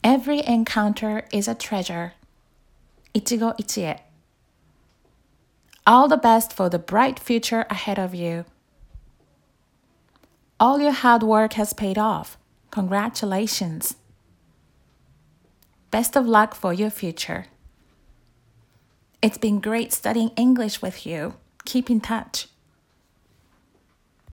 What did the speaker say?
Every encounter is a treasure. 一期一会 All the best for the bright future ahead of you. All your hard work has paid off. Congratulations. Best of luck for your future. It's been great studying English with you. Keep in touch.